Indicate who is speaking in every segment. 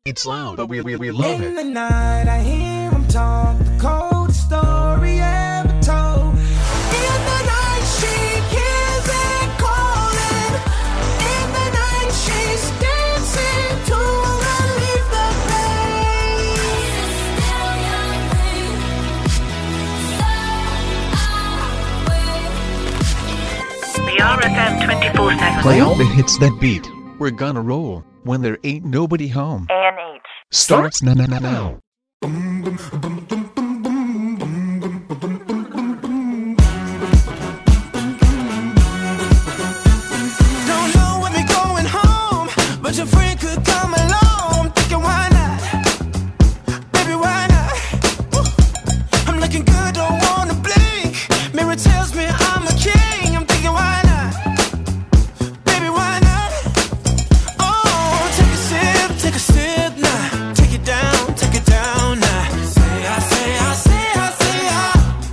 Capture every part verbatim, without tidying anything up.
Speaker 1: It's loud, but we, we, we love
Speaker 2: In
Speaker 1: it.
Speaker 2: the night, I hear him talk, the coldest story ever told. In the night, she hears it calling. In the night, she's dancing to relieve the pain.
Speaker 3: B R F M twenty-four seven.
Speaker 1: Play all the hits that beat. We're gonna roll when there ain't nobody home.
Speaker 3: A N H.
Speaker 1: Starts now, now, now, now.
Speaker 2: Don't know when we're going home, but your friend could come along. Thinking why not? Baby, why not? Woo. I'm looking good, don't wanna blink. Mirror tells me I'm a king. I'm thinking why not? Baby, why not? Oh, take a sip, take a sip now. Take it down, take it down now. Say I, say I, say I, say I.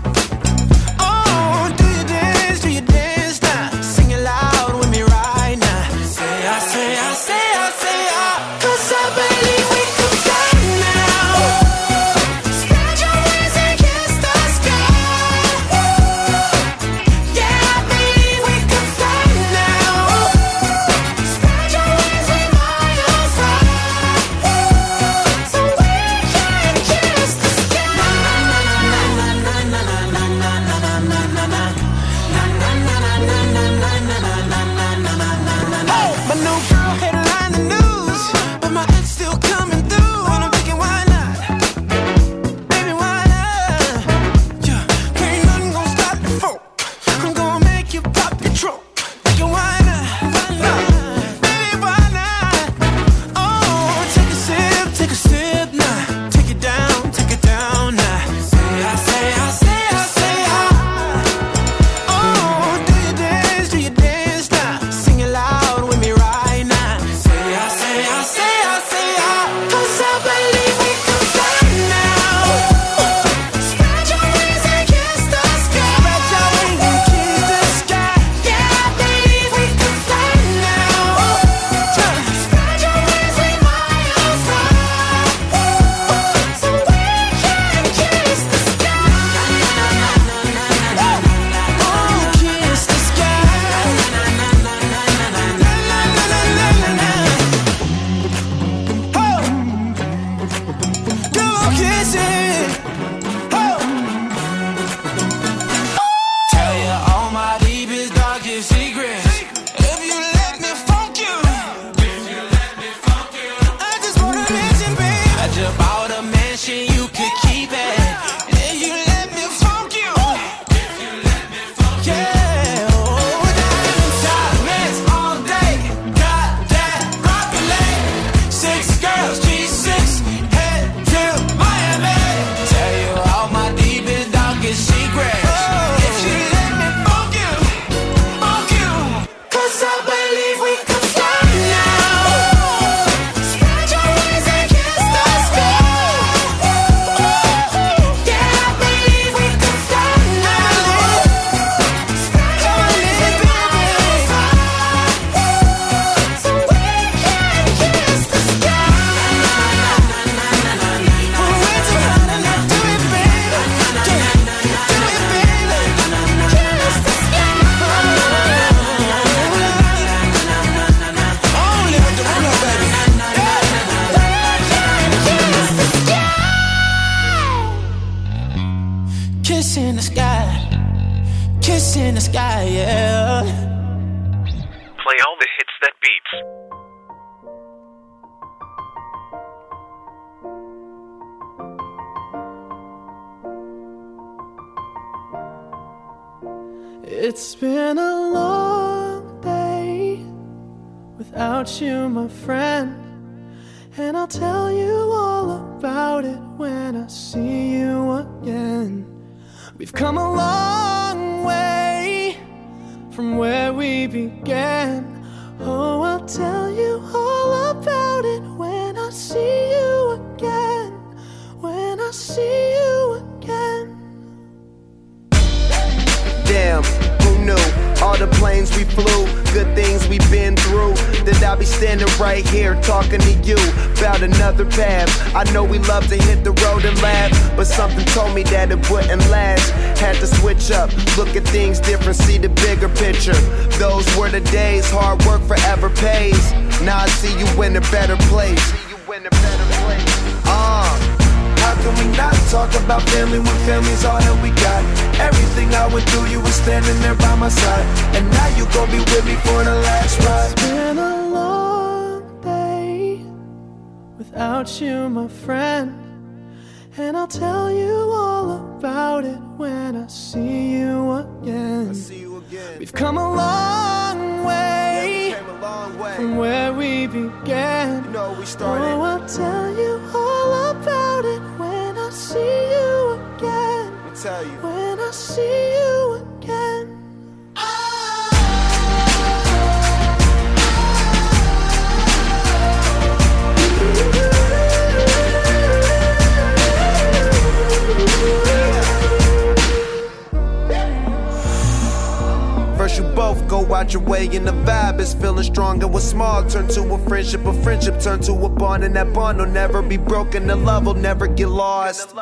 Speaker 2: Oh, do you dance, do you dance now? Sing it loud with me right now. Say I, say I, say I, say I. 'Cause I believe we could fly now. Spread your wings and kiss the sky. Yeah, I believe we could fly now. Spread your wings with my arms high, so we can kiss the sky. Na na na na na na na na na na na na na na. Hey, my new girl headline the news, but my ex still coming through, and I'm thinking why not? Baby, why not? Yeah, ain't nothing gonna stop the folk. I'm gonna make you pop your trunk. Thinking why not? Nah, baby, why not? Oh, take a sip, take a sip now. Take it down, take it down now. Say I, say I, say I, say I. Oh, do you dance, do you dance now? Sing it loud with me right now. Say I, say I, say I, say I. 'Cause I believe we can fly now. Spread your wings and kiss the sky. Spread your wings and kiss the sky. Yeah, I believe we can fly now. Spread your wings with my arms high, so we can kiss the sky. Oh, kiss the sky. Oh, do kiss it. Oh, tell you all my deepest, darkest secrets. If you let me funk you, I just wanna mention, babe, I just bought a mansion, you could keep it. If you let me funk you, yeah, oh, diamond diamonds all day, got that broccoli. Six girls, G six, head to Miami. Tell you all my deepest, darkest secrets. If you let me funk you, funk you. 'Cause I believe we can fly now. Spread your wings and kiss the sky. Yeah, I believe we can fly now. Spread your wings, baby, so we can kiss the sky. We're together now, do it, baby. Do it, baby. Kiss the sky. Only with the real, baby. Kiss in the sky, kiss in the sky, yeah.
Speaker 3: Play all the hits that beats.
Speaker 2: It's been a long day without you, my friend, and I'll tell you all about it when I see you again. We've come a long way from where we began. Oh, I'll tell you all about it when I see you again. When I see you again.
Speaker 4: Damn, who knew? All the planes we flew, good things we've been through, that I'll be standing right here talking to you about another path. I know we love to hit the road and laugh, but something told me that it wouldn't last. Had to switch up, look at things different, see the bigger picture. Those were the days, hard work forever pays. Now I see you in a better place. See you in a better place. Uh, how can we not talk about family when family's all that we got? Everything I went through, you were standing there by my side, and now you gon' be with me for the last ride.
Speaker 5: It's been a long day without you, my friend, and I'll tell you all about it when I see you again.
Speaker 4: I see you again.
Speaker 5: We've come a long way,
Speaker 4: yeah, we came a long way
Speaker 5: from where we began.
Speaker 4: You know we started.
Speaker 5: Oh, I'll tell you all about it when I see you again.
Speaker 4: Let me tell you.
Speaker 5: When I see you again.
Speaker 4: First you both go out your way and the vibe is feeling strong, and what's small turn to a friendship, a friendship turn to a bond, and that bond will never be broken, the love will never get lost.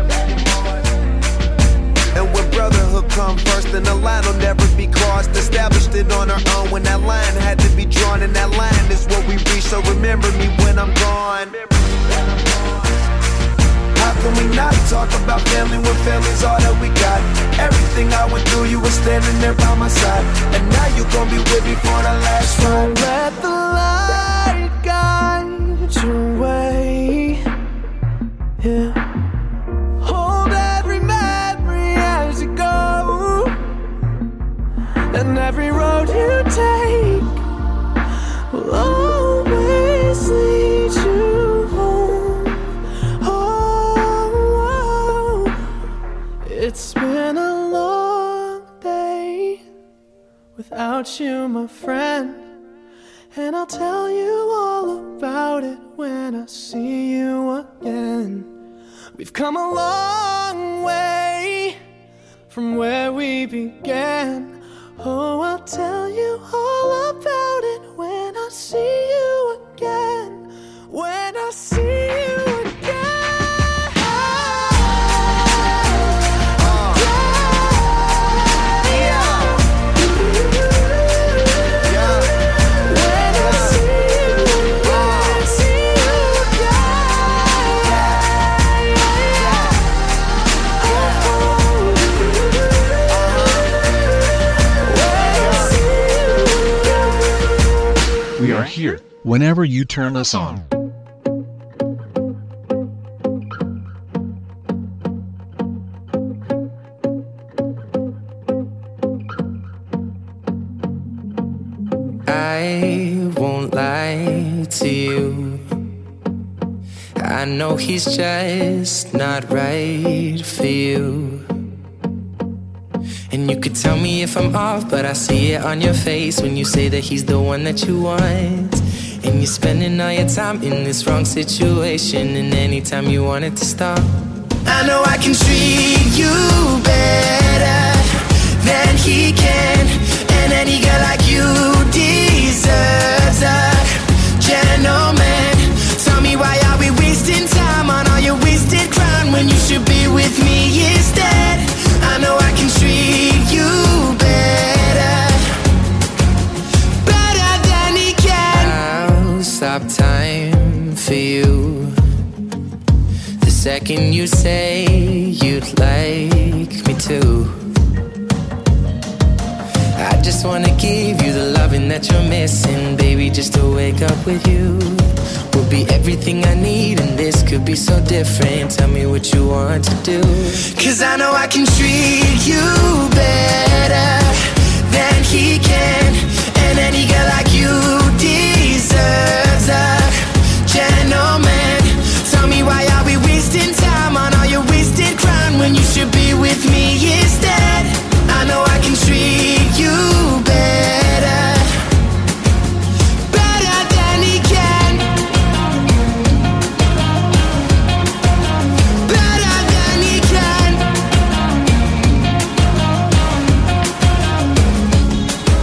Speaker 4: And when brotherhood come first, then the line will never be crossed. Established it on our own when that line had to be drawn, and that line is what we reach, so remember me when I'm gone. How can we not talk about family when family's all that we got? Everything I went through, you were standing there by my side, and now you gon' be with me for the last ride.
Speaker 5: So let the light guide your way, yeah. Hold every memory as you go, and every road you take will always lead you home. Oh, it's been a long day without you, my friend, and I'll tell you all about it when I see you again. We've come a long way from where we began. Oh, I'll tell you all about it when I see you again. When I see you again.
Speaker 4: Uh, yeah. Yeah.
Speaker 5: When I see you again, see you again.
Speaker 1: We are here whenever you turn us on.
Speaker 6: I won't lie to you. I know he's just not right for you. And you could tell me if I'm off, but I see it on your face when you say that he's the one that you want. And you're spending all your time in this wrong situation, and anytime you want it to stop, I know I can treat you better than he can. And any girl like you deserves a gentleman. Tell me, why are we wasting time on all your wasted crown when you should be with me instead? I know I can treat you better, better than he can. I'll stop time for you the second you say you'd like me to. I just wanna give you the loving that you're missing, baby, just to wake up with you will be everything I need, and this could be so different. Tell me what you want to do, 'cause I know I can treat you better than he can. And any girl like you deserves a gentleman. Tell me, why are we wasting time on all your wasted crown when you should be with me instead? I know I can treat you better, better than he can, better than he can.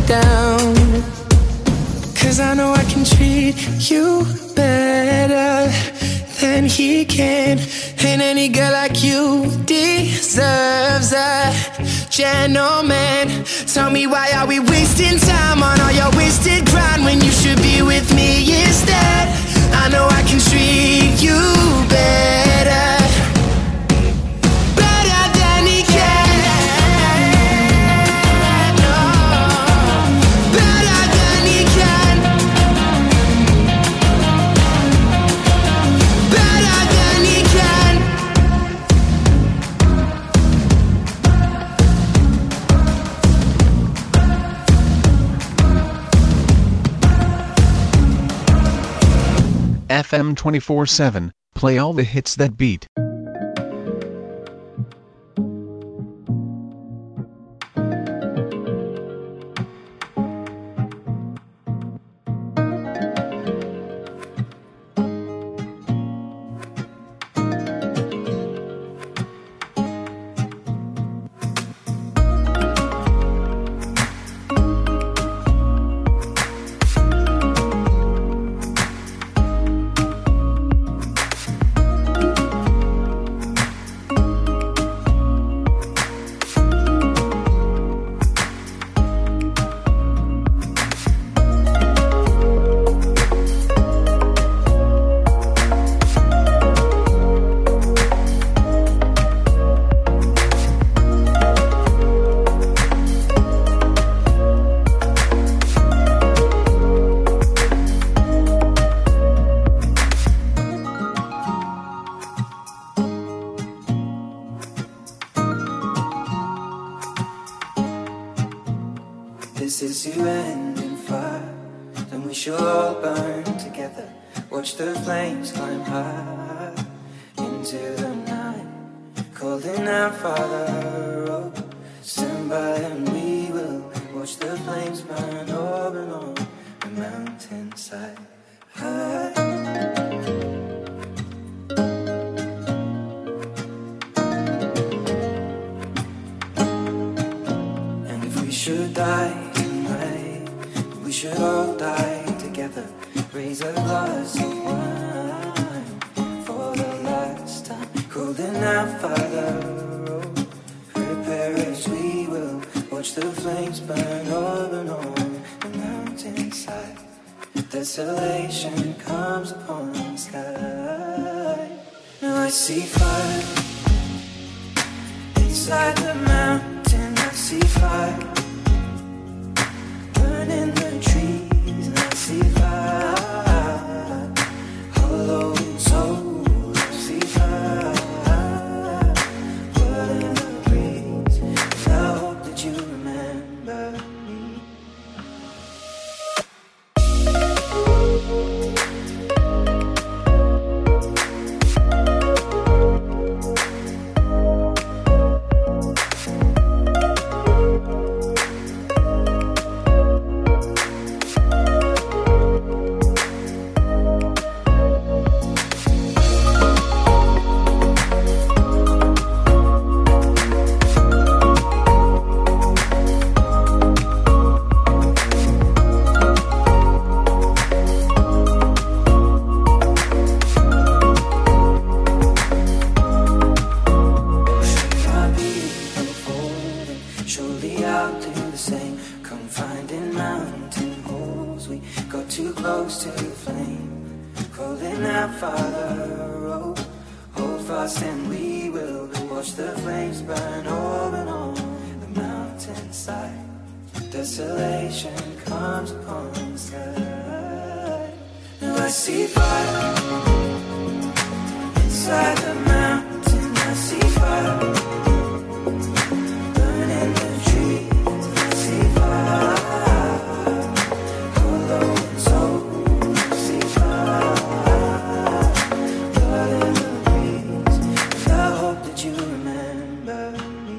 Speaker 6: down. Cause I know I can treat you better than he can. And any girl like you deserves a gentleman. Tell me, why are we wasting time on all your wasted grind when you should be with me instead? I know I can treat you better, better than he can. No, better than he can. Better than he can.
Speaker 1: F M twenty-four seven, play all the hits that beat.
Speaker 7: This is you ending fire, then we shall all burn together. Watch the flames climb high into the night, calling out, Father, oh, stand by and we will watch the flames burn over and on the mountainside. High. Should die tonight, we should all die together. Raise a glass of wine for the last time, calling out, Father, oh, prepare as we will watch the flames burn over and on the mountainside. Desolation comes upon the sky. Now I see fire inside the mountain. I see fire in the trees, and I see fire, hollow soul, I see fire, blood in the breeze, and I hope that you remember me. Desolation comes upon the sky. Now I see fire inside the mountain. I see fire burning the trees. I see fire, hollow soul. I see fire, blood in the breeze. And I hope that you remember me.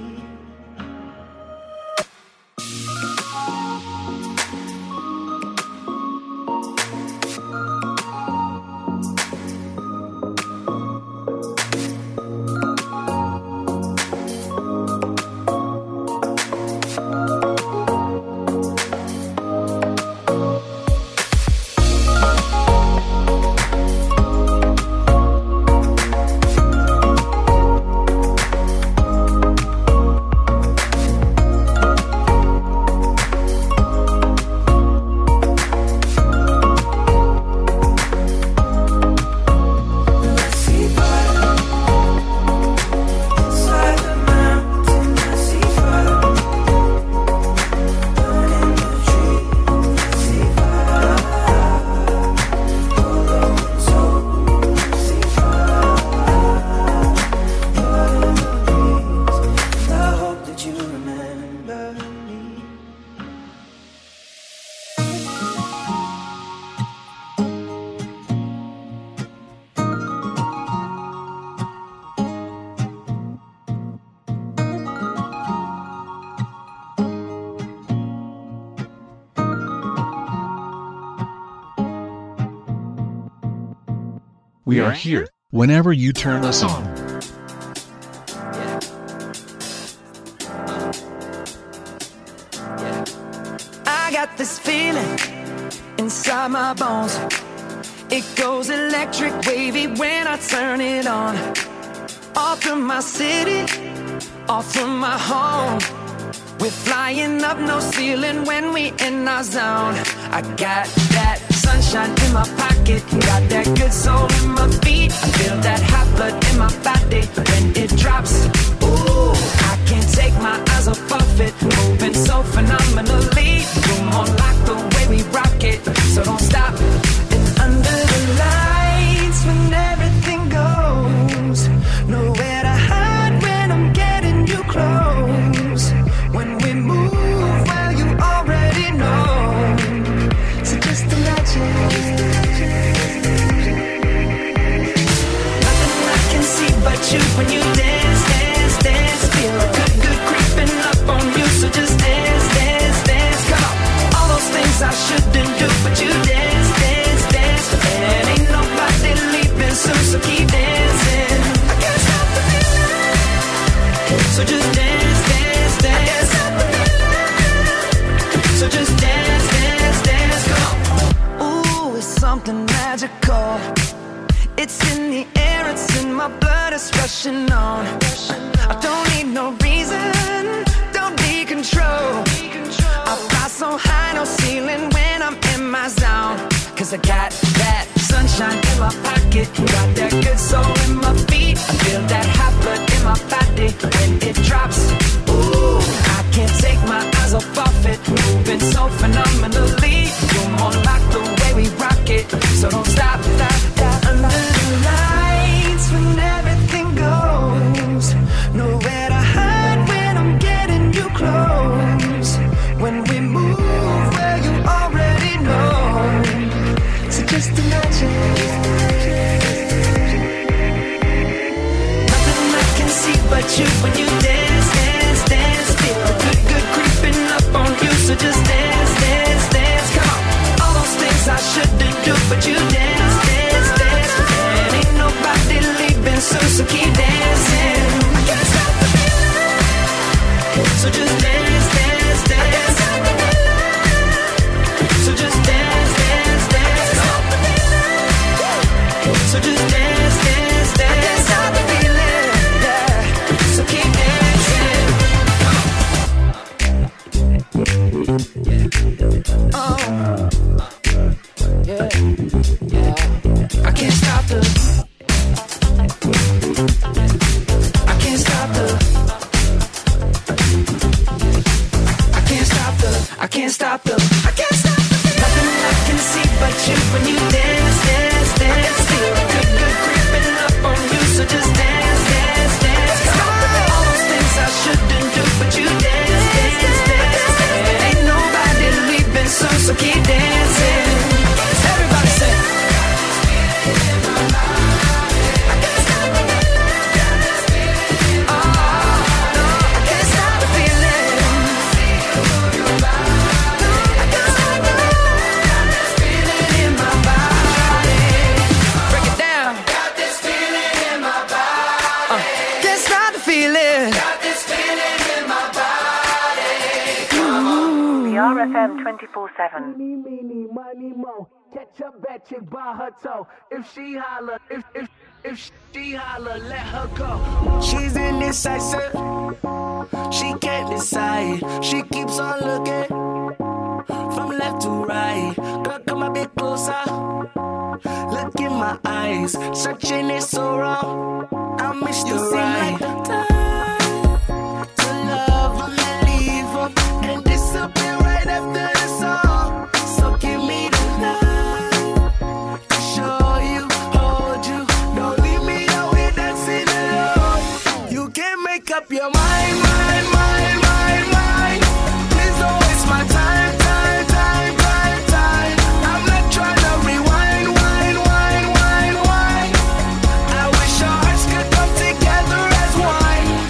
Speaker 1: We are here whenever you turn us on.
Speaker 7: I got this feeling inside my bones. It goes electric wavy when I turn it on. Off from my city, off from my home. We're flying up, no ceiling when we in our zone. I got that sunshine in my pocket, got that good soul in my feet. I feel that hot blood in my body when it drops. Ooh, I can't take my eyes off of it, moving so phenomenally. Room on lock the way we rock it, so don't stop. And under the lights when everything goes, nowhere to hide when I'm getting you close. When we move, well, you already know. So just imagine. Nothing I can see but you when you dance, dance, dance. Feel good, good creeping up on you. So just dance, dance, dance. Come on. All those things I shouldn't do, but you dance, dance, dance. And ain't nobody leaving soon, so keep dancing. I can't stop the feeling. So just dance, dance, dance. So just dance, dance, dance, come on. Ooh, it's something magical. It's in the air, it's in my blood, it's rushing on. I don't need no reason, don't need control. I fly so high, no ceiling when I'm in my zone. Cause I got that sunshine in my pocket, got that good soul in my feet. I feel that hot blood in my body when it drops. Ooh, I can't take my eyes off of it, moving so phenomenally. You're more like the way we rock it, so don't stop, stop, stop. Under the lights when everything goes, nowhere to hide when I'm getting you close. When we move, well, you already know. So just imagine. Nothing I can see but you when you dance, dance, dance. Feel good, good creeping up on you. So just dance, dance, dance. Come on. All those things I shouldn't do, but you dance, dance, dance. And ain't nobody leaving soon, so keep dancing. I can't stop the feeling. So just dance, dance, dance. So just dance, dance, dance. So just dance, dance, dance. I can't stop the feeling, yeah. So keep dancing. Oh, yeah, yeah. I can't stop the. I can't stop the. I can't stop the. I can't stop the. I can't stop the. Nothing I can see but you when you dance, dance, dance. Feel good, good creeping up on you. So just dance, dance, dance. All those things I shouldn't do, but you dance, dance, dance. And ain't nobody leaving soon, so keep dancing. Everybody say. I can't stop the feeling. Oh, no, I can't stop the feeling. I can't stop the feeling in my body. Break it down. Got this feeling in my body. Uh, can't stop the feeling. Got this feeling in my body.
Speaker 3: B R F M twenty-four seven.
Speaker 8: Meeny, meeny, money, mo. Catch a bad chick by her toe. If she holler, if if if she holler, let her go. She's indecisive. She can't decide. She keeps on looking from left to right. Girl, come a bit closer. Look in my eyes. Searching is so wrong. I miss the right time to love them and leave them and disappear right after the song. So give me the night to show you, hold you. Don't leave me out here dancing alone. You can't make up your mind, mind, mind, mind, mind. Please don't waste my time, time, time, time, time. I'm not trying to rewind, wind, wind, wind, wind. I wish our hearts could come together as one.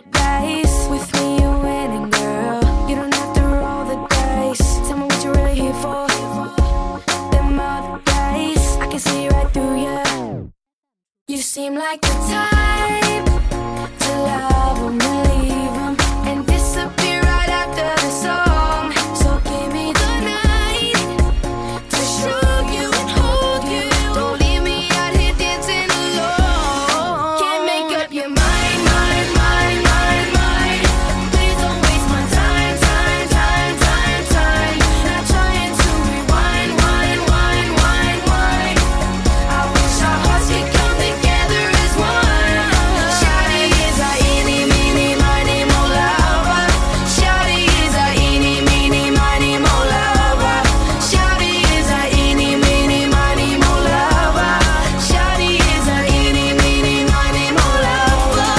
Speaker 9: dice. With me you're winning, girl. You don't have to roll the dice. Tell me what you're really here for. Them other guys, I can see right through you. You seem like the type to love 'em and leave 'em and disappear right after the song. So give me the night to show you and hold you. Don't leave me out here dancing alone. Can't make up your mind, mind, mind, mind, mind. Please don't waste my time, time, time, time, time. Not trying to rewind, wind, wind, wind, wind. I wish our hearts could come together as one. Shawty is a eeny, meeny, miny, mo lover. Shawty is a eeny, meeny, miny, mo lover. Shawty is a eeny, meeny, miny, mo lover. Shawty is a eeny, meeny, miny, mo lover.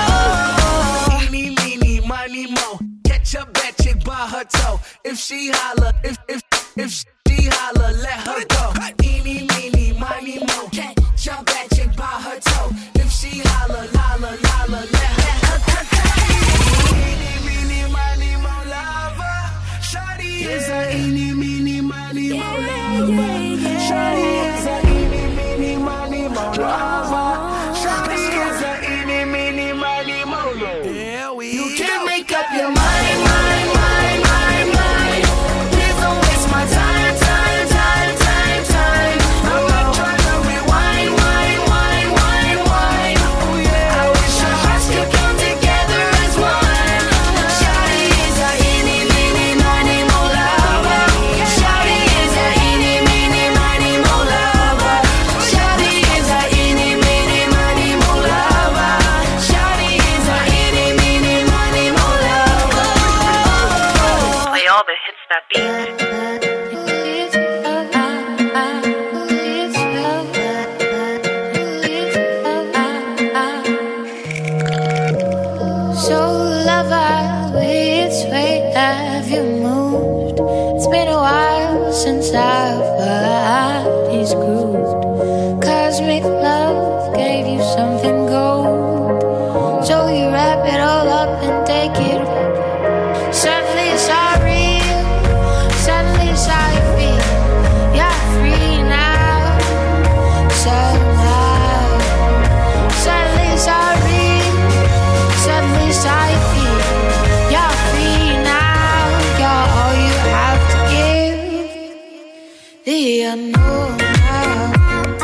Speaker 8: Eeny, meeny, miny, mo. Catch a bad chick by her toe. If she holla, if if if she holla, let her go. Eeny, meeny, miny, mo. Catch a bad chick by her toe. If she holla, holla, holla, let her go. Eeny, meeny, miny, mo lover. Shawty is a eeny, meeny, miny, mo lover. Shawty is a eeny, meeny, miny, mo lover. Shawty is a eeny, meeny, miny, mo lover. Yeah, we
Speaker 9: You can't make up your mind, mind, mind, mind, mind. Please don't waste my time, time, time, time, time. I'm not trying to rewind, wind, wind, wind, wind. I wish our hearts could come together as one. Shawty is a eeny, meeny, miny, mo lover. Shawty is a eeny, meeny, miny, mo lover. Shawty is a eeny, meeny, miny, mo lover. Shawty is a eeny, meeny, miny, mo lover.
Speaker 3: Play all the hits that beat.
Speaker 9: So lover, which way have you moved? It's been a while since our bodies grooved. Cosmic love gave you something gold. So you wrap it all up and take it. Suddenly it's all real. Suddenly it's how you feel. You're free now. Somehow. Suddenly it's all real. Suddenly it's how you feel. You're free now. You're all you have to give. The unknown now.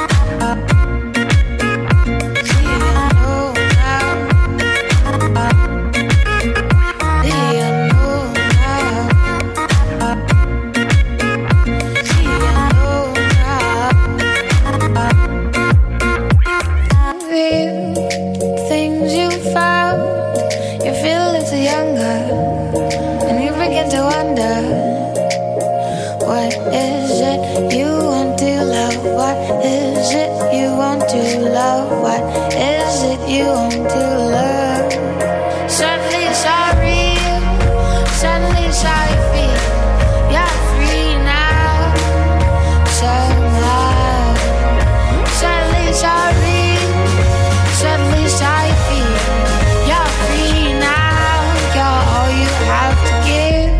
Speaker 9: The unknown now. The unknown now. The unknown now. Real things you found. You feel a little younger, and you begin to wonder, what is it you want to love? What is it you want to love? What is it you want to love? Suddenly it's all real. Suddenly it's how you feel. You're free now. Somehow. Suddenly it's all real. Suddenly it's how you feel. You're free now. You're all you have to give.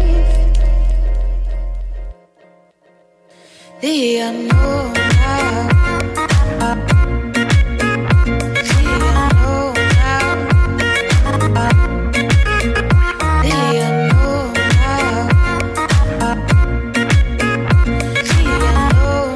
Speaker 9: The unknown now. The unknown now. The unknown now. The unknown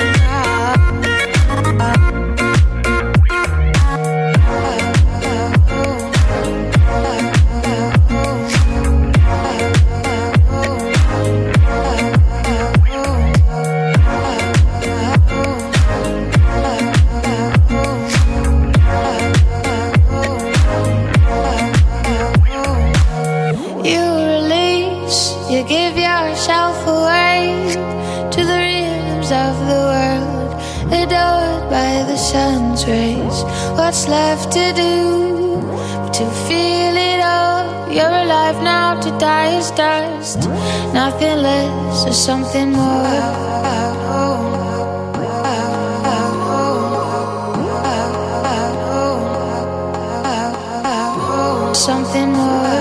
Speaker 9: You release, you give yourself away to the rhythms of the world, adored by the sun's rays. What's left to do but to feel it all? You're alive now, to die is dust. Nothing less or something more. Something more.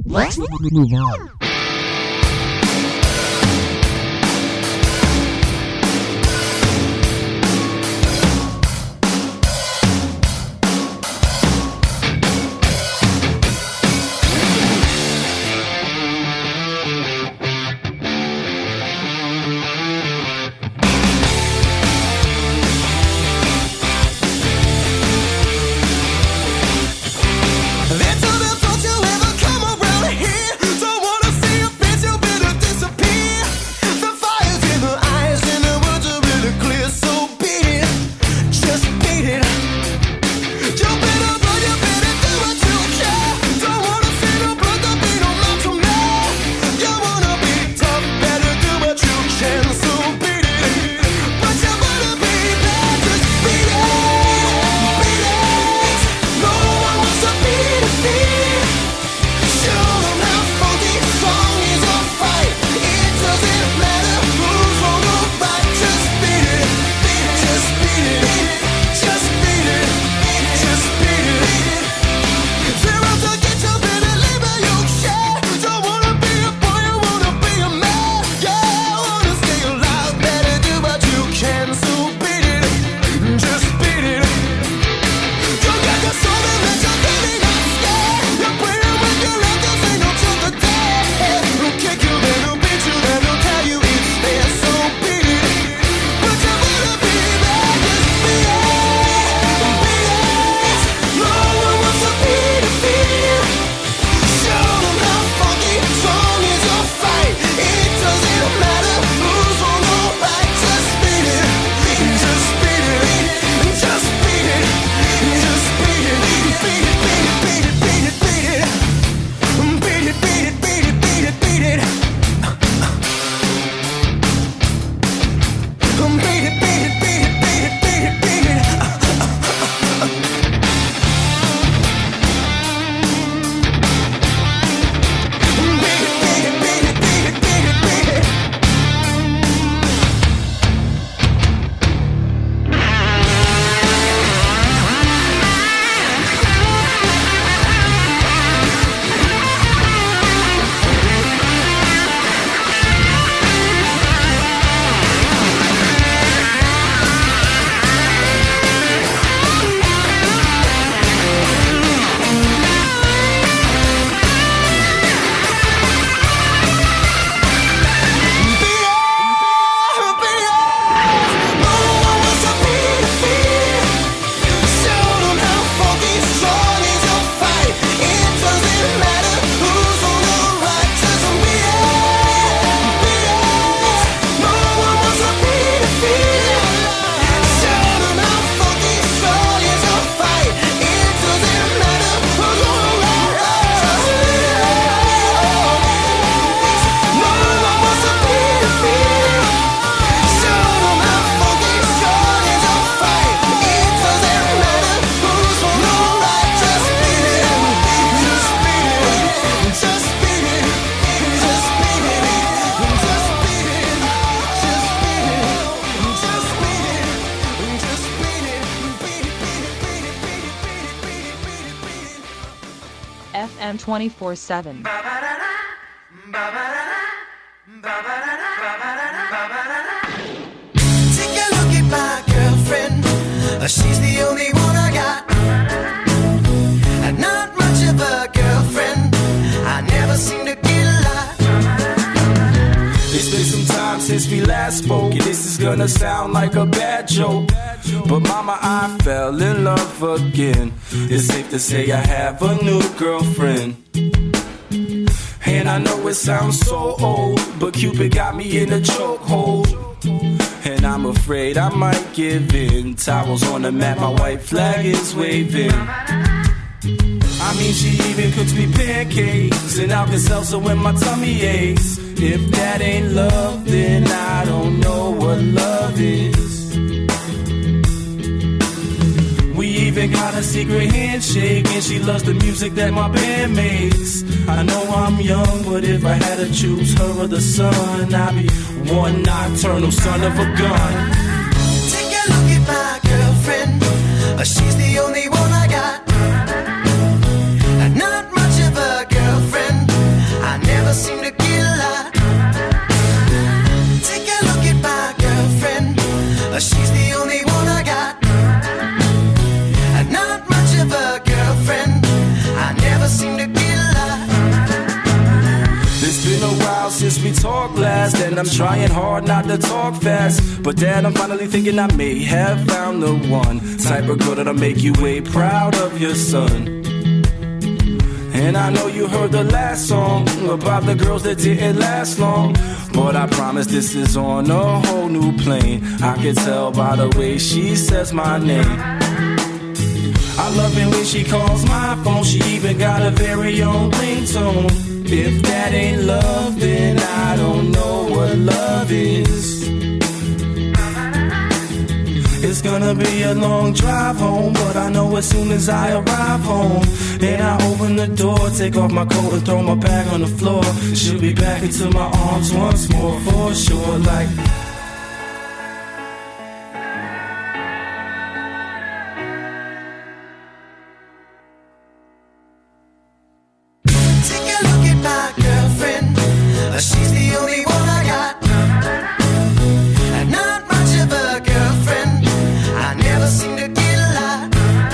Speaker 10: Let's move on.
Speaker 11: F M twenty-four seven.
Speaker 2: Take a look at my girlfriend. She's the only one I got. Not much of a girlfriend. I never seem to get a lot.
Speaker 12: It's been some time since we last spoke, and this is gonna sound like a bad joke, but mama, I fell in love again. It's safe to say I have a new girlfriend. And I know it sounds so old, but Cupid got me in a chokehold. And I'm afraid I might give in. Towels on the mat, my white flag is waving. I mean, she even cooks me pancakes and Alka-Seltzer when my tummy aches. If that ain't love, then I don't know what love is. We even got a secret handshake, and she loves the music that my band makes. I know I'm young, but if I had to choose her or the sun, I'd be one nocturnal son of a gun.
Speaker 2: Take a look at my girlfriend. She's the only one I got. Not much of a girlfriend.
Speaker 12: talk last, and I'm trying hard not to talk fast. But Dad, I'm finally thinking I may have found the one type of girl that'll make you way proud of your son. And I know you heard the last song about the girls that didn't last long, but I promise this is on a whole new plane. I can tell by the way she says my name. I love it when she calls my phone. She even got a very own ringtone. If that ain't love, then I don't know what love is. It's gonna be a long drive home, but I know as soon as I arrive home and I open the door, take off my coat and throw my bag on the floor, she'll be back into my arms once more for sure. Like
Speaker 2: take a look at my girlfriend. She's the only one I got. And not much of a girlfriend. I never seem to get a lot.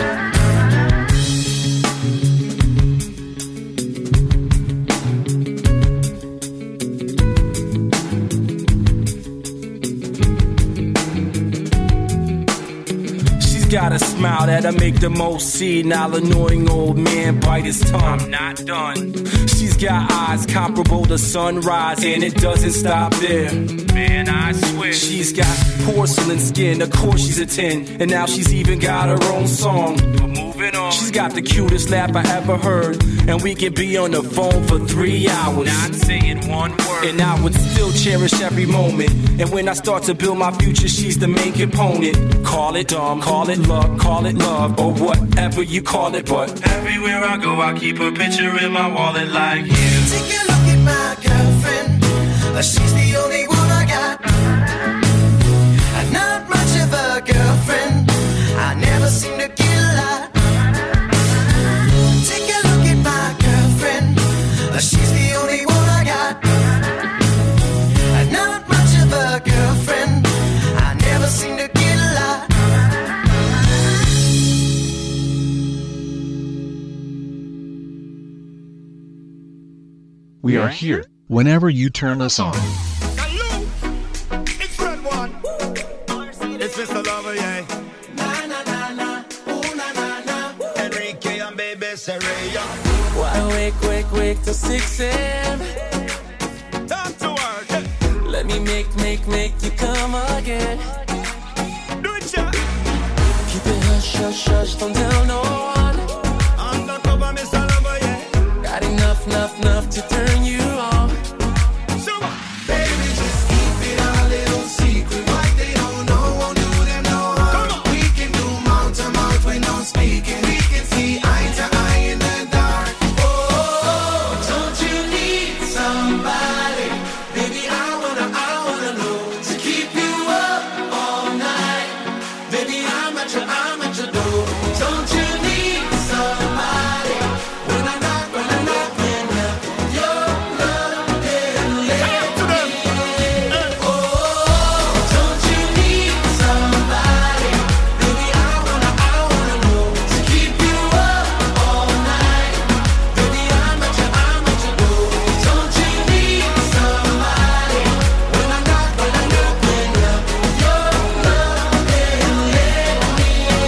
Speaker 12: she's got a smile that'll make the most senile annoying old man bite his tongue. I'm not done. She's got eyes comparable to sunrise, and it doesn't stop there. Man, I swear. She's got porcelain skin, of course she's a ten, and now she's even got her own song. But moving on. She's got the cutest laugh I ever heard, and we can be on the phone for three hours. Not saying one word. And I would still cherish every moment. And when I start to build my future, she's the main component. Call it dumb, call it luck, call it love, or whatever you call it. But everywhere I go, I keep a picture in my wallet like you.
Speaker 2: Take a look at my girlfriend. She's the only one I got. And not much of a girlfriend. I never seem to get a lot. Take a look at my girlfriend. She's the only one I got. And not much of a girlfriend. I never seem to get a lot.
Speaker 1: We are here whenever you turn us on.
Speaker 10: It's Fred One. It's Mister Lover, yeah. Na na na na, ooh na na na. Enrique and Baby Saraya.
Speaker 5: Why wake, wake, wake till six a.m.
Speaker 10: Time to work.
Speaker 5: Let me make, make, make you come again.
Speaker 10: Do it, yeah.
Speaker 5: Keep it hush, hush, hush, don't tell no one.
Speaker 10: Undercover, Mister Lover, yeah.
Speaker 5: Got enough, enough, enough to turn you on.
Speaker 10: So, baby, just keep it a little secret. What they don't know won't do them no harm. We can do mouth to mouth when no speaking. We can see eye to eye in the dark. Oh, don't you need somebody? Baby, I wanna, I wanna know to keep you up all night. Baby, I'm at your, I'm at your door. Don't you need somebody? When I knock, when I knock, when I your love can let me in. Oh, don't you need somebody? Baby, I wanna, I wanna know to keep you up all night. Baby, I'm at your, I'm at your door. Don't you need somebody? When I knock, when I knock, when I your love can let me in.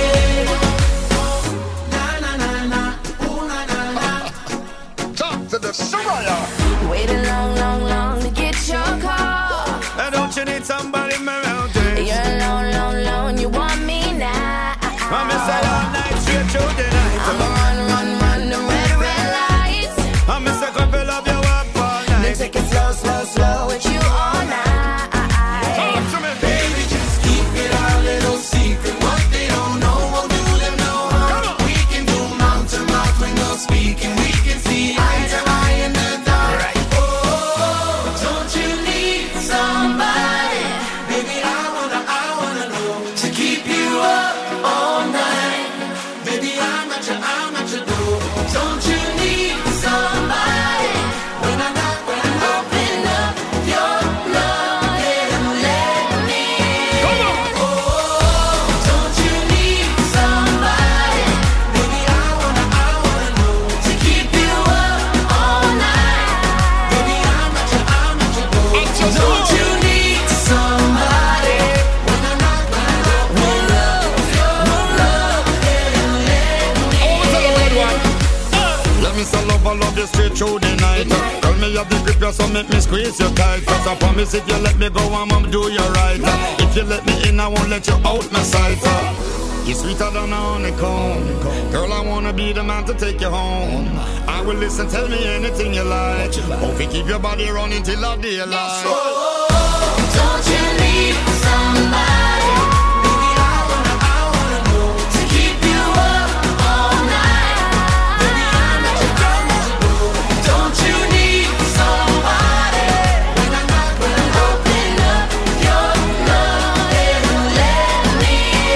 Speaker 13: sugar, so make me squeeze you tight. Cause I promise if you let me go, I'ma do you right. If you let me in, I won't let you out my sight. You're sweeter than a honeycomb. Girl, I wanna be the man to take you home. I will listen, tell me anything you like. Hope you keep your body running till the daylight.
Speaker 10: Don't you need somebody? Baby, I wanna, I wanna know. To keep you up all night. Baby, I'm not your girl, not your boo. Don't you need somebody? When I'm not gonna open up your love and let me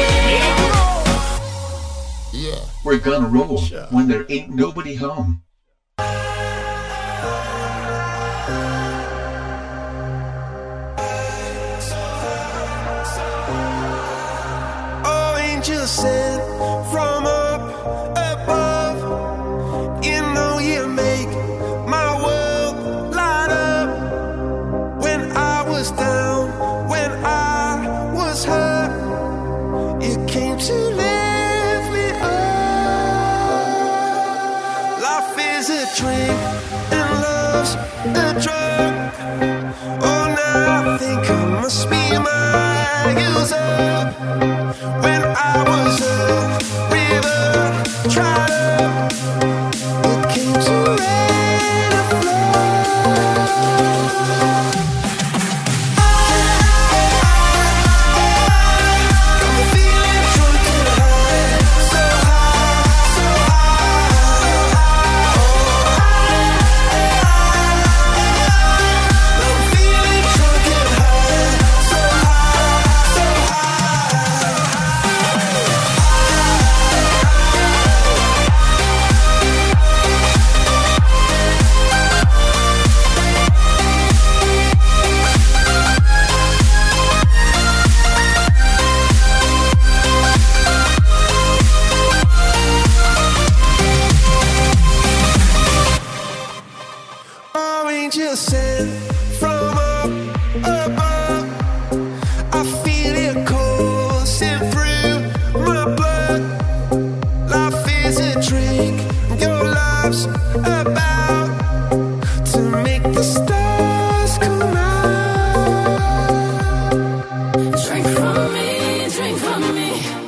Speaker 10: in.
Speaker 1: Yeah. We're gonna roll when there ain't nobody home.
Speaker 2: Just sent from up above. You know you make my world light up. When I was down, when I was hurt, you came to lift me up. Life is a drink and love's a drug. Oh, now I think I must be my user. When I was a river, tried up, it came to rain and I'm feeling drunk and high, so high, so high. I'm feeling drunk and high, so high, so angel sent from up above. I feel it coursing through my blood. Life is a drink, your love's about to make the stars come out.
Speaker 10: Drink from me, drink from me.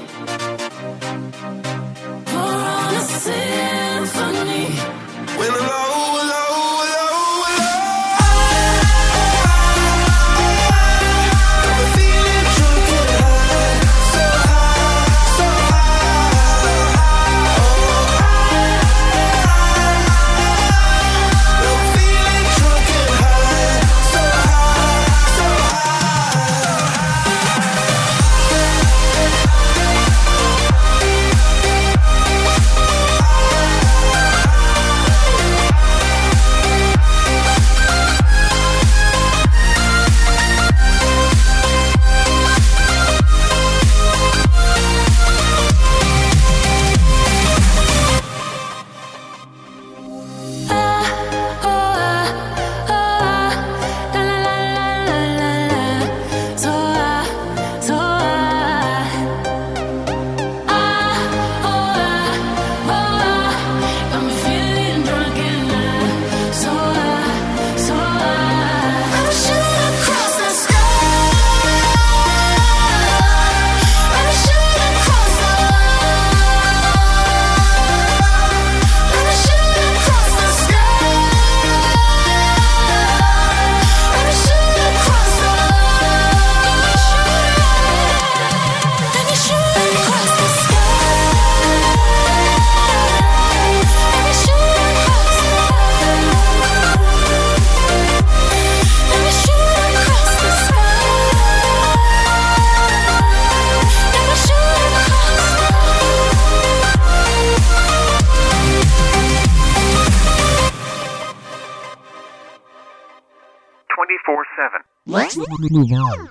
Speaker 10: Pour on a symphony.
Speaker 2: When I'm low, low, low, low, I'm feeling drunk and high, so high, so high. I'm feeling drunk and high, so high, so
Speaker 14: twenty-four seven.
Speaker 1: Let's move on.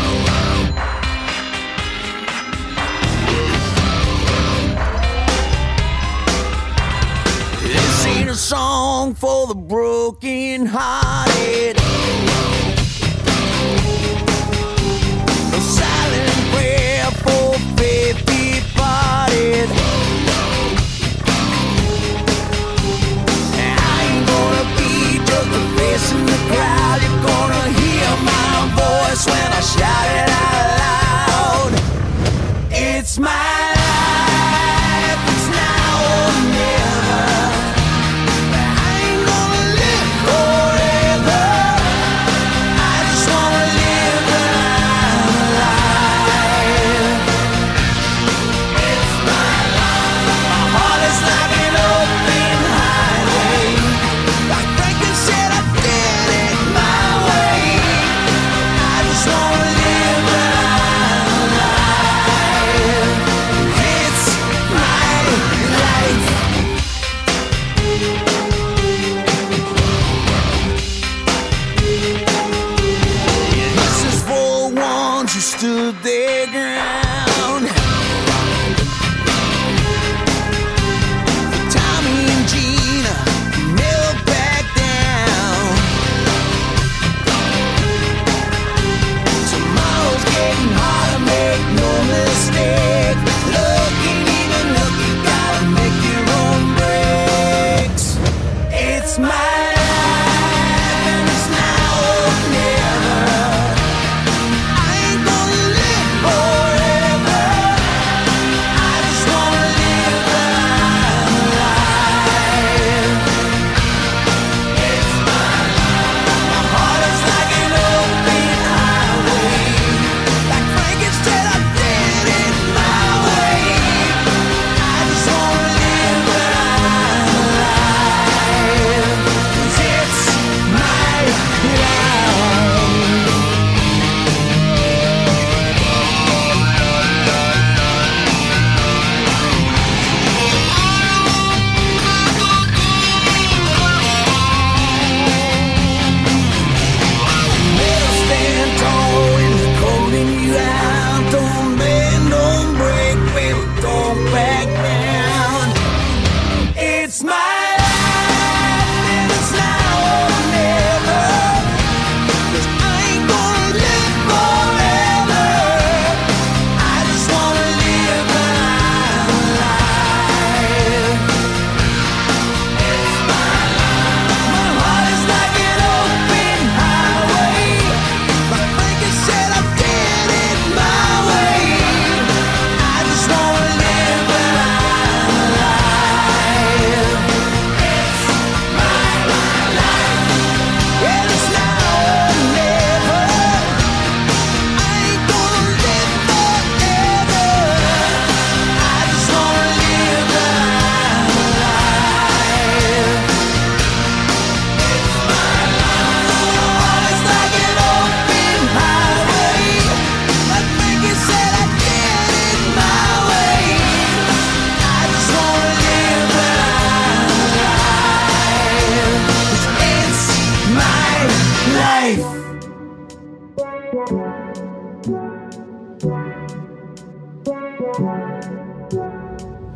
Speaker 2: This ain't a song for the broken hearted. A silent prayer for faith departed. I ain't gonna be just a face in the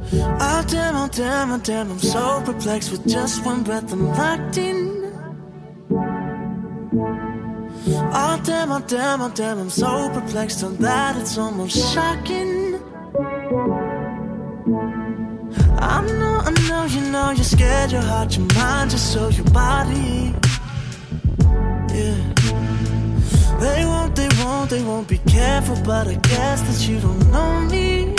Speaker 5: Oh damn, oh damn, oh damn, I'm so perplexed. With just one breath I'm locked in. Oh damn, oh damn, oh damn, I'm so perplexed on that it's almost shocking. I know, I know, you know you're scared, your heart, your mind, just so your body. Yeah. They won't, they won't, they won't be careful, but I guess that you don't know me.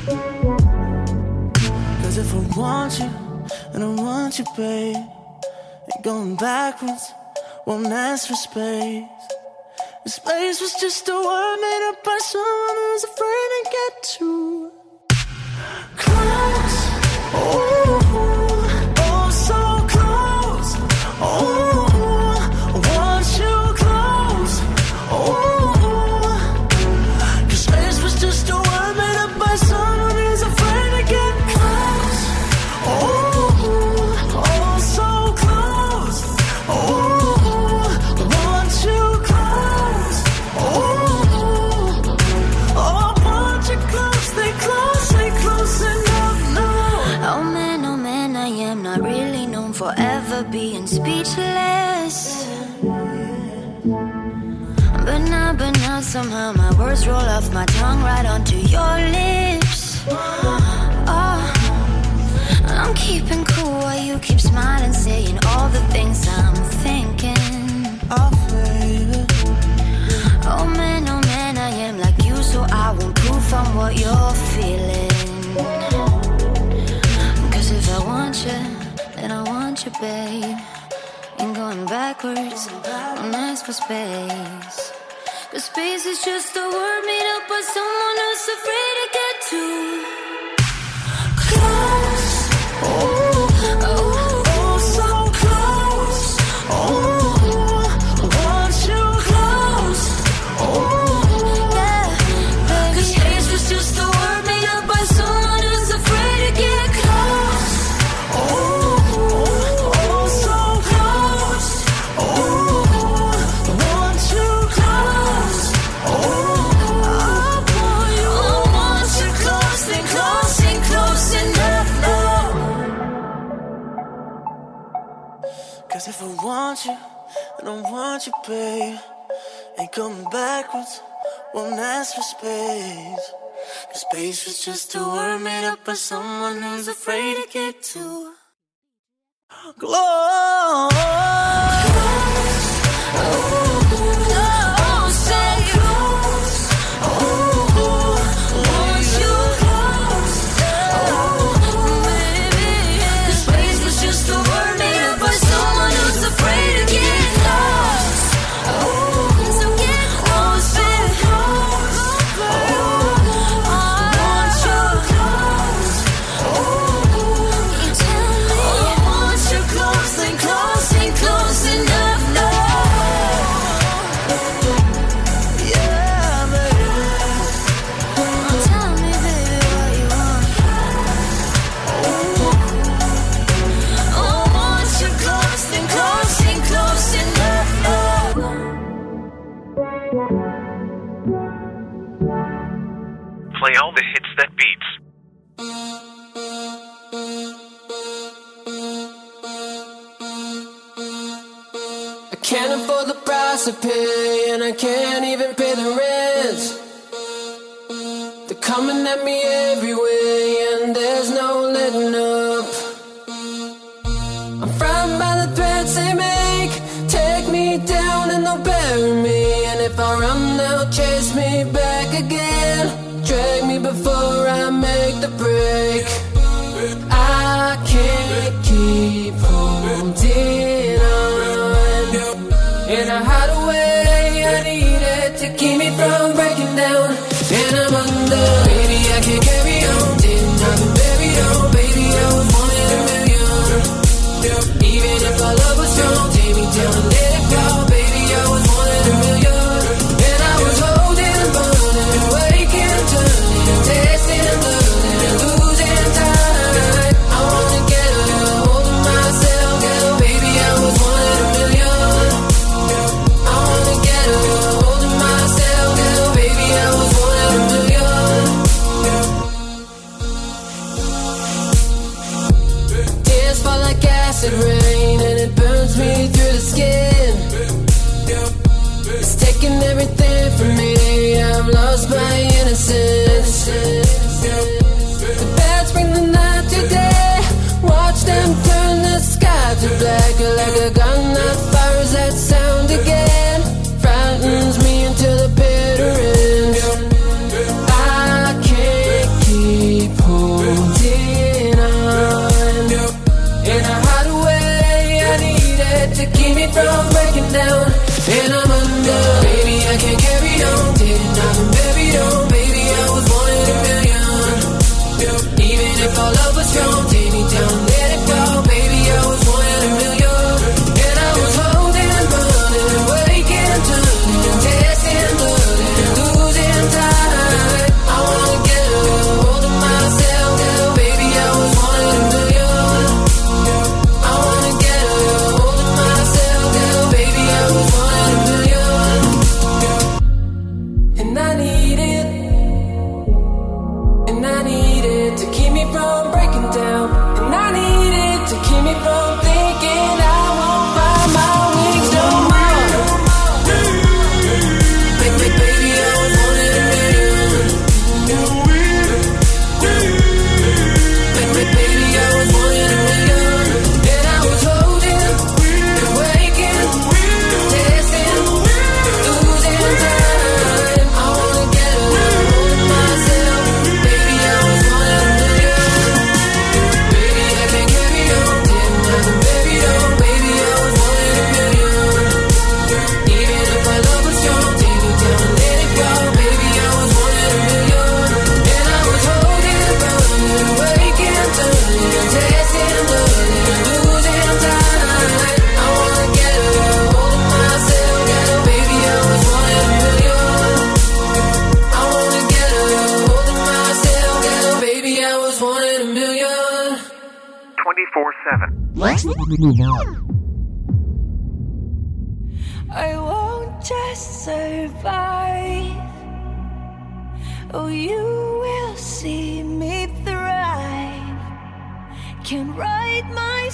Speaker 5: Cause if I want you, and I want you, babe, ain't going backwards, won't ask for space. The space was just a word made up by someone who's afraid to get too close. Oh, oh, so close. Oh, I want you close. Oh, 'cause space was just a word made up by someone who's afraid to get close. Oh, oh, so close. Oh, I want you close. Oh, oh, I want you close. Stay close, stay close enough. No.
Speaker 9: Oh man, oh man, I am not really known for ever being speechless. But now, but now somehow my words roll off my tongue right onto your lips. Oh, I'm keeping cool while you keep smiling, saying all the things I'm thinking.
Speaker 5: Oh, baby.
Speaker 9: Oh man, oh man, I am like you, so I won't prove from what you're feeling. Cause if I want you, then I want you, babe. Ain't going backwards, don't ask for space. Cause space is just a word made up by someone who's afraid to get too close.
Speaker 5: Oh, oh, oh, so close. Oh, I want you close. Oh,
Speaker 9: Yeah, baby.
Speaker 5: cause space was just a word made up by someone who's afraid to get close. Oh, oh, so close. Oh, I want you close. Oh, I want you, I want you close, and close, and close enough now. Cause if I want you, I don't want you, babe. Ain't coming backwards, won't ask for space. Cause space was just a word made up by someone who's afraid to get too close. Oh, say close. Oh, I want you close. Oh, baby. Cause space was just a word made up by someone who's afraid to get close. Oh, so get close, baby. Oh, I want you close. Oh, you tell me I want you close, and close, and close enough, no. Yeah, baby.
Speaker 9: Tell me, baby, what you want.
Speaker 5: Oh, I want you close, and close, and close enough, no.
Speaker 14: Play all the hits that beats.
Speaker 15: I can't afford the price I pay, and I can't even pay the rent. They're coming at me every way, and there's no letting up. I'm frightened by the threats they make. Take me down and they'll bury me, and if I run they'll chase me back again. Drag me before I make the break. I can't keep holding on. In a hideaway, I need it to keep me from breaking down. And I'm under, baby, I can't carry on. Didn't acid rain and it burns me through the skin. It's taking everything from me. I've lost my innocence. The bats bring the night to day. Watch them turn the sky to black. Like a gun that fires that sound again. Frightens me until the bitter ends. I can't keep holding on. In a hideaway, I need it to keep me from breaking down. And I'm under. Baby, I can't carry on. Didn't I've been buried on. Baby, I was one in a million. Even if our love was strong, take me down, let it go. Baby, I was one in a million. And I was holding and burning, waking, turning, tasting, burning, losing time. I wanna get a hold of myself now. Baby, I was one in a million. I wanna get a hold of myself now. Baby, I was one in a million. And I need it. And I need it to keep me from breaking down. And I need it to keep me from thinking I won't find my wings no more. Baby, baby, I was one in a million. Baby, baby, I was one in a million. And I was holding and waking, tasting, losing time. I wanna get a hold of myself. Baby, I was one in a million. Baby, I can't carry on. Didn't I've been buried on. Baby, I was one in a million. Even if our love was strong, take me down, let it go. Baby, I was one in a million. And I was holding and burning, waking, turning, tasting, learning, losing time. I wanna get a hold of myself now. Baby, I was one in a million. I wanna get a hold of myself now. Baby, I was one in a million.
Speaker 14: twenty-four seven.
Speaker 1: Let's move on.
Speaker 9: I won't just survive. Oh, you will see me thrive. Can write my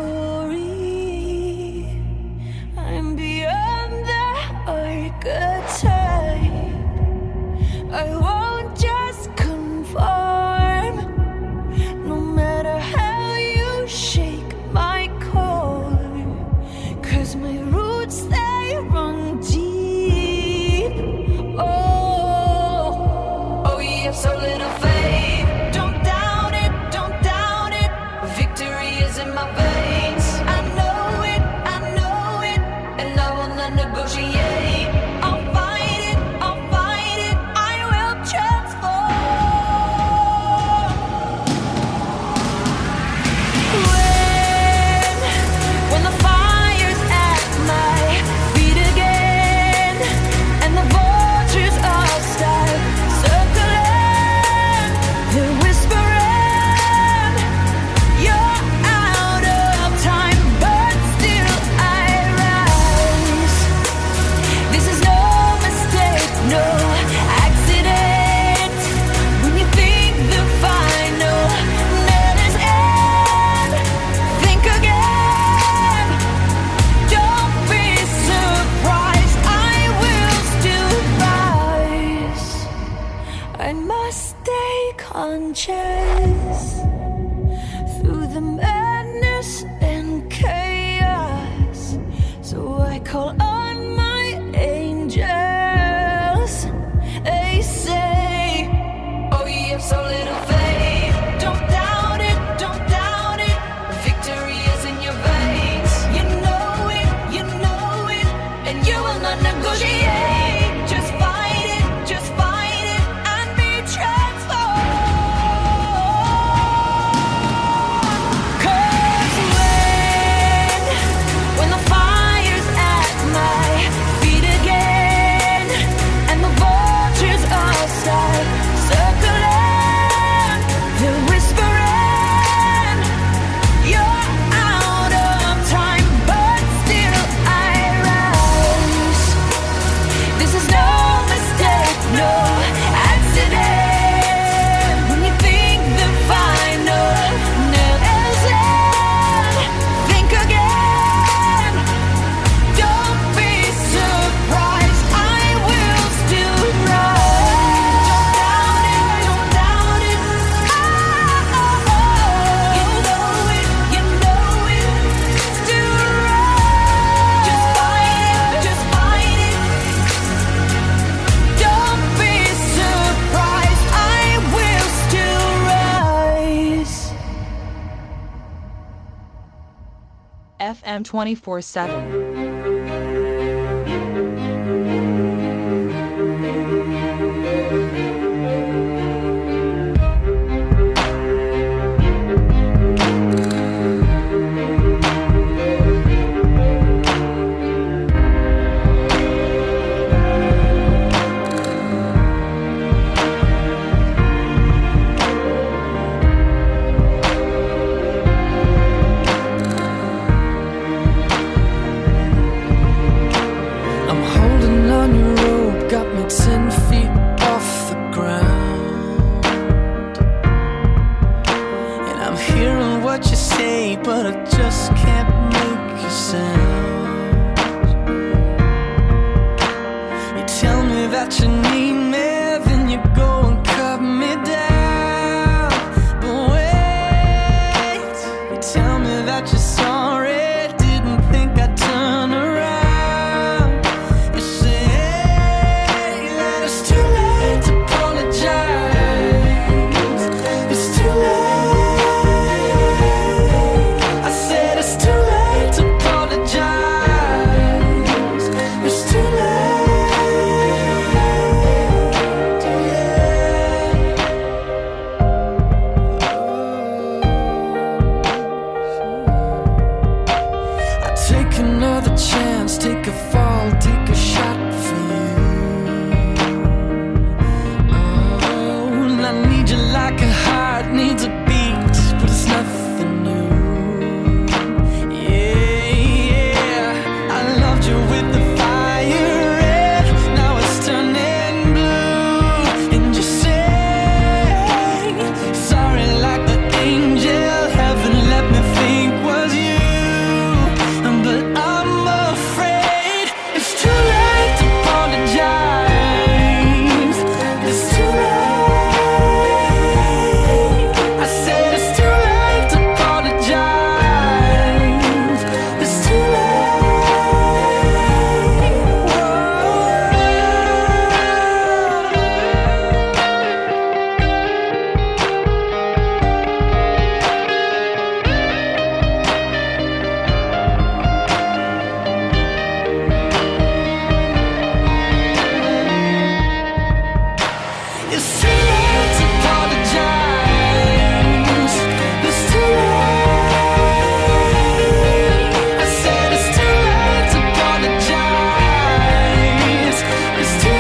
Speaker 9: story. I'm beyond the archetype. I won't just conform. No matter how you shake my core. 'Cause my roots, they run deep. Oh, oh, you have so little faith. Don't doubt it, don't doubt it. Victory is in my veins. I know it, I know it. And I will not negotiate. I'll fight it, I'll fight it. I will transform. When, when the fire's at my feet again, and the vultures all start circling, they're whispering, you're out of time, but still I rise. This is no mistake, no accident. When you think the final nail is in, think again. Don't be surprised, I will still rise. I must stay conscious through the madness and chaos. So I call on my angels. They say, oh, you have so little faith. Don't doubt it, don't doubt it. Victory is in your veins. You know it, you know it. And you will not negotiate. Just fight it, just fight it, and be transformed. 'Cause when, when the fire's at my
Speaker 11: M twenty-four seven.
Speaker 15: I'm holding on your rope, got me ten feet off the ground. And I'm hearing what you say, but I just can't make you sound. You tell me that you need me, then you go and cut me down. But wait, you tell me that you're sorry, didn't think I'd turn around. You say that it's too late to apologize. It's too late. I said it's too late to apologize. It's too late. I take another chance, take a fall, take a shot for you. Oh, and I need you like a heart needs a beat, but it's nothing new. Yeah, yeah, I loved you with the fire red, now it's turning blue. And you say sorry like the angel heaven let me think was you. But I'm afraid it's too late to apologize. It's too late. I said it's too late to apologize. It's too It's too late to apologize. It's too late. I said it's too late to apologize. It's too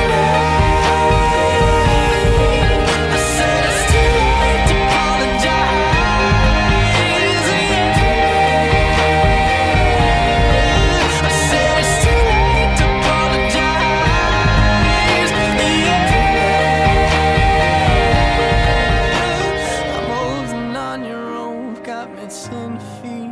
Speaker 15: late. I said it's too late to apologize. Yeah. I said it's too late to apologize. Yeah. I'm holding on your rope, got me ten feet